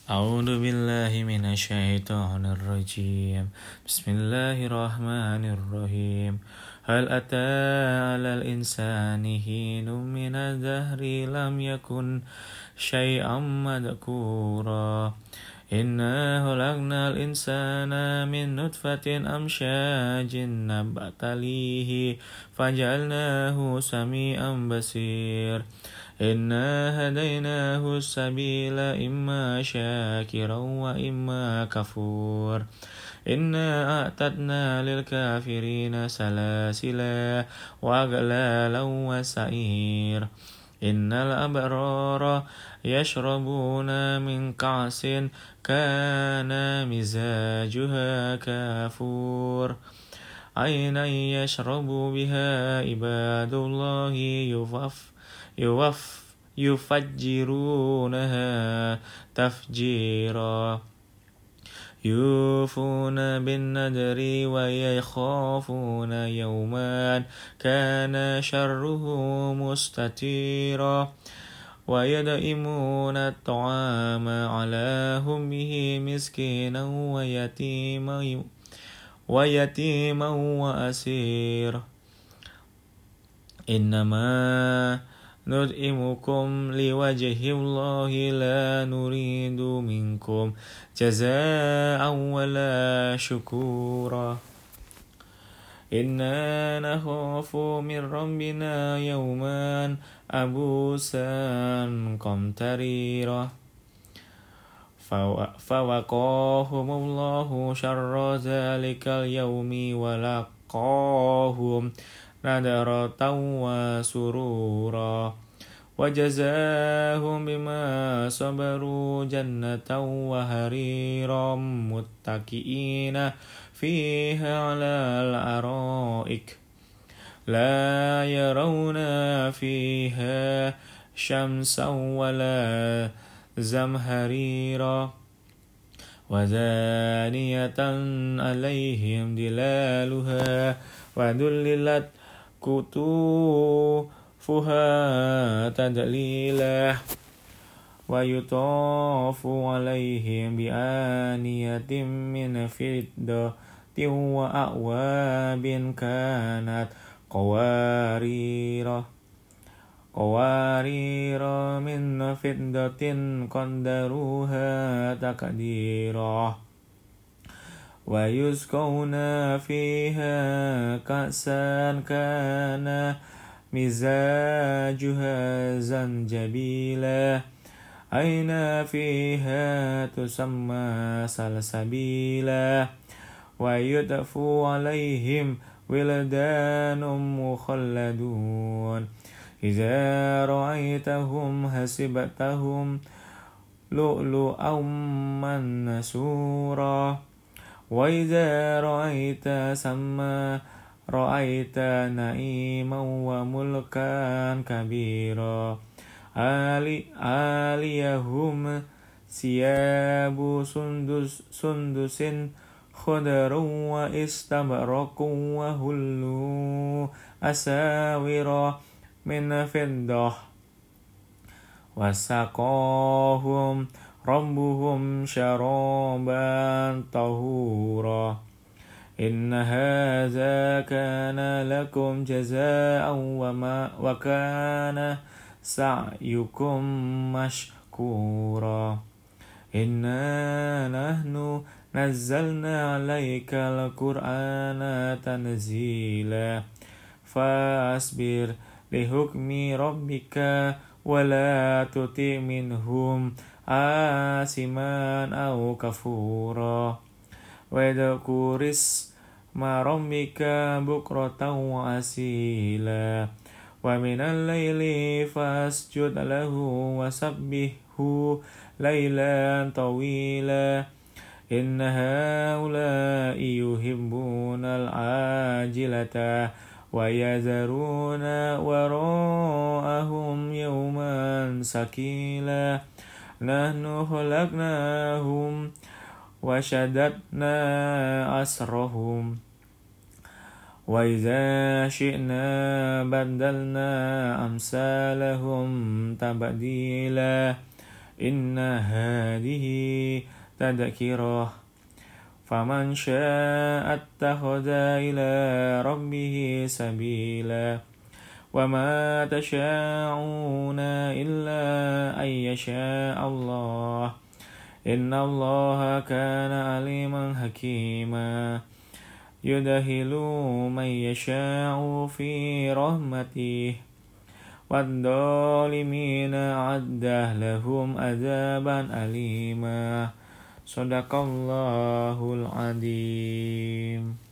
أعوذ بالله من الشيطان الرجيم. بسم الله الرحمن الرحيم. هل أتى على الإنسان حين من الدهر لم يكن شيئا مذكورا إنا خلقنا الإنسان من نطفة أمشاج نبتليه فجعلناه سميعا بصير إنا هديناه السبيل إما شاكرا وإما كفور إنا أعتدنا للكافرين سلاسلا وأغلالا وسعير إن الأبرار يشربون من كأس كان مزاجها كافور عينا يشرب بها عباد الله يفجرونها تفجيرا يوفون بالنذر ويخافون يوما كان شره مستطيرا ويدعمون الطعام على حبه مسكينا ويتيما وأسيرا إنما نطعمكم لوجه الله لا نريد منكم جزاء ولا شكورا إنا نخاف من ربنا يوما عبوسا قمطريرا فوقاهم الله شر ذلك اليوم ولقاهم نضرة وسرورا وجزاهم بما صبروا جنة وحريرا متكئين فيها على الأرائك لا يرون فيها شمسا ولا زمهريرا ودانية عليهم ظلالها وذللت قطوفها تذليلا ويطاف عليهم بآنية من فضة وأكواب كانت قوارير من فضة قدروها تقديرا ويسقون فيها كأسا كان مزاجها زنجبيلا عينا فيها تسمى سلسبيلا ويطاف عليهم ولدان مخلدون إذا رأيتهم حسبتهم لؤلؤا منثورا وإذا رأيت ثم رأيت نعيما وملكا كبيرا عاليهم ثياب سندس خضر واستبرق وهلوا أساور من فضة وسقاهم ربهم شرابا طهورا إن هذا كان لكم جزاء وكان سعيكم مشكورا إنا نحن نزلنا عليك القرآن تنزيلا فاصبر لحكم ربك ولا تطع منهم آثما أو كفورا واذكر اسم ربك بكرة وأصيلا ومن الليل فاسجد له وسبحه ليلا طويلا إن هؤلاء يحبون العاجلة ويذرون وراءهم يوما ثقيلا نحن خلقناهم وشددنا أسرهم وإذا شئنا بدلنا أمثالهم تبديلا إن هذه تذكرة فمن شاء اتخذ إلى ربه سبيلا وما تشاءون إلا أن يشاء الله إن الله كان عليما حكيما يدخل من يشاء في رحمته والظالمين أعد لهم عذابا أليما صدق الله العظيم.